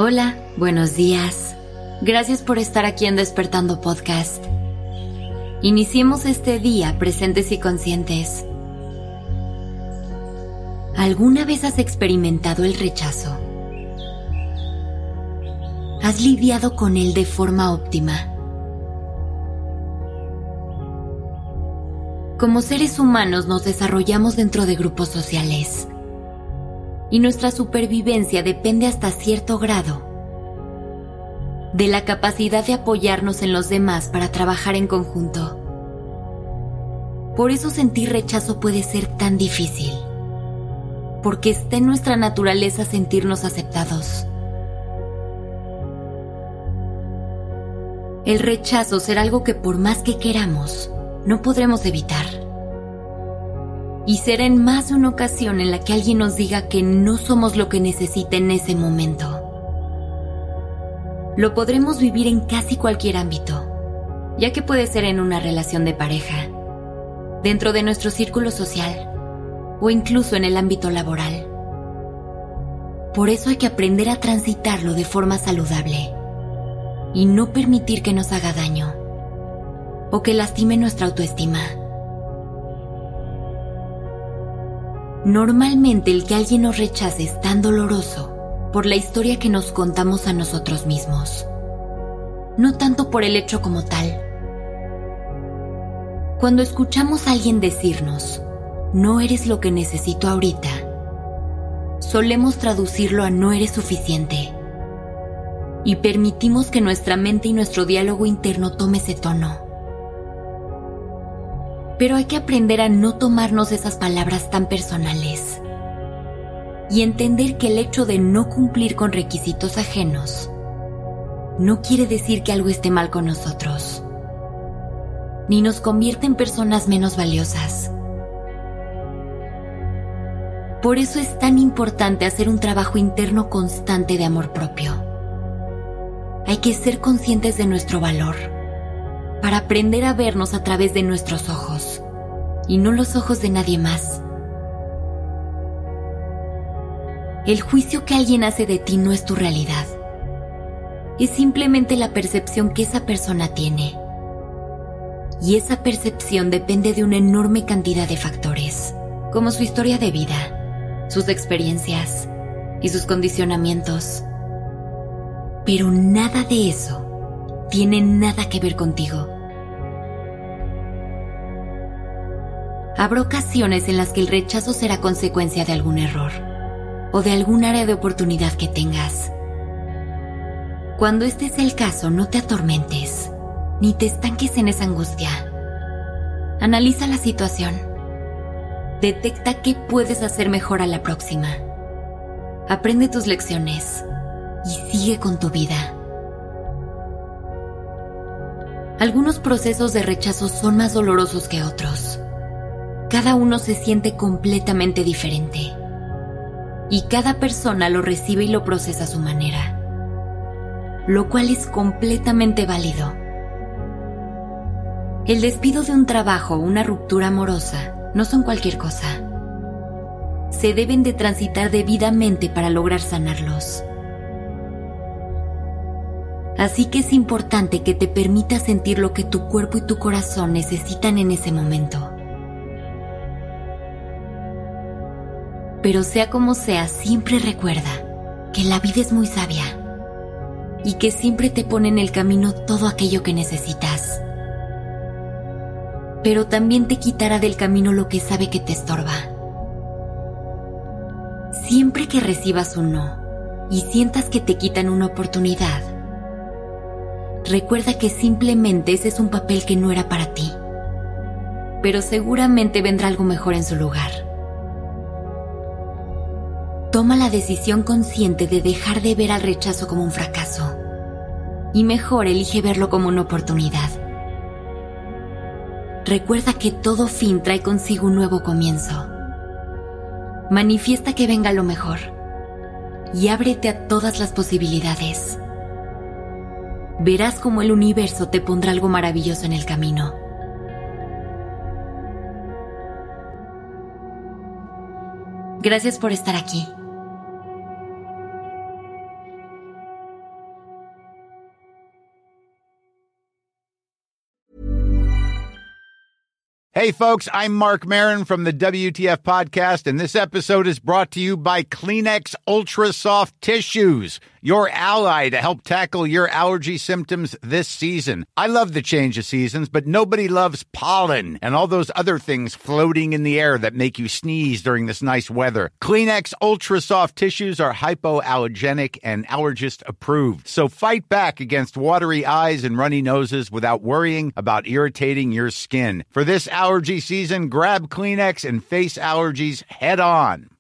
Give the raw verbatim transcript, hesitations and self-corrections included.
Hola, buenos días. Gracias por estar aquí en Despertando Podcast. Iniciemos este día presentes y conscientes. ¿Alguna vez has experimentado el rechazo? ¿Has lidiado con él de forma óptima? Como seres humanos nos desarrollamos dentro de grupos sociales y nuestra supervivencia depende hasta cierto grado de la capacidad de apoyarnos en los demás para trabajar en conjunto. Por eso sentir rechazo puede ser tan difícil, porque está en nuestra naturaleza sentirnos aceptados. El rechazo será algo que por más que queramos, no podremos evitar. Y será en más de una ocasión en la que alguien nos diga que no somos lo que necesita en ese momento. Lo podremos vivir en casi cualquier ámbito, ya que puede ser en una relación de pareja, dentro de nuestro círculo social o incluso en el ámbito laboral. Por eso hay que aprender a transitarlo de forma saludable y no permitir que nos haga daño o que lastime nuestra autoestima. Normalmente el que alguien nos rechace es tan doloroso por la historia que nos contamos a nosotros mismos, no tanto por el hecho como tal. Cuando escuchamos a alguien decirnos, no eres lo que necesito ahorita, solemos traducirlo a no eres suficiente y permitimos que nuestra mente y nuestro diálogo interno tome ese tono. Pero hay que aprender a no tomarnos esas palabras tan personales y entender que el hecho de no cumplir con requisitos ajenos no quiere decir que algo esté mal con nosotros, ni nos convierte en personas menos valiosas. Por eso es tan importante hacer un trabajo interno constante de amor propio. Hay que ser conscientes de nuestro valor para aprender a vernos a través de nuestros ojos y no los ojos de nadie más. El juicio que alguien hace de ti no es tu realidad. Es simplemente la percepción que esa persona tiene. Y esa percepción depende de una enorme cantidad de factores, como su historia de vida, sus experiencias y sus condicionamientos. Pero nada de eso tiene nada que ver contigo. Habrá ocasiones en las que el rechazo será consecuencia de algún error o de algún área de oportunidad que tengas. Cuando este sea el caso, no te atormentes, ni te estanques en esa angustia. Analiza la situación. Detecta qué puedes hacer mejor a la próxima. Aprende tus lecciones y sigue con tu vida. Algunos procesos de rechazo son más dolorosos que otros. Cada uno se siente completamente diferente. Y cada persona lo recibe y lo procesa a su manera, lo cual es completamente válido. El despido de un trabajo o una ruptura amorosa no son cualquier cosa. Se deben de transitar debidamente para lograr sanarlos. Así que es importante que te permitas sentir lo que tu cuerpo y tu corazón necesitan en ese momento. Pero sea como sea, siempre recuerda que la vida es muy sabia y que siempre te pone en el camino todo aquello que necesitas. Pero también te quitará del camino lo que sabe que te estorba. Siempre que recibas un no y sientas que te quitan una oportunidad, recuerda que simplemente ese es un papel que no era para ti, pero seguramente vendrá algo mejor en su lugar. Toma la decisión consciente de dejar de ver al rechazo como un fracaso y mejor elige verlo como una oportunidad. Recuerda que todo fin trae consigo un nuevo comienzo. Manifiesta que venga lo mejor y ábrete a todas las posibilidades. Verás cómo el universo te pondrá algo maravilloso en el camino. Gracias por estar aquí. Hey, folks, I'm Mark Maron from the W T F Podcast, and this episode is brought to you by Kleenex Ultra Soft Tissues, your ally to help tackle your allergy symptoms this season. I love the change of seasons, but nobody loves pollen and all those other things floating in the air that make you sneeze during this nice weather. Kleenex Ultra Soft Tissues are hypoallergenic and allergist approved, so fight back against watery eyes and runny noses without worrying about irritating your skin. For this allergy season, grab Kleenex and face allergies head on.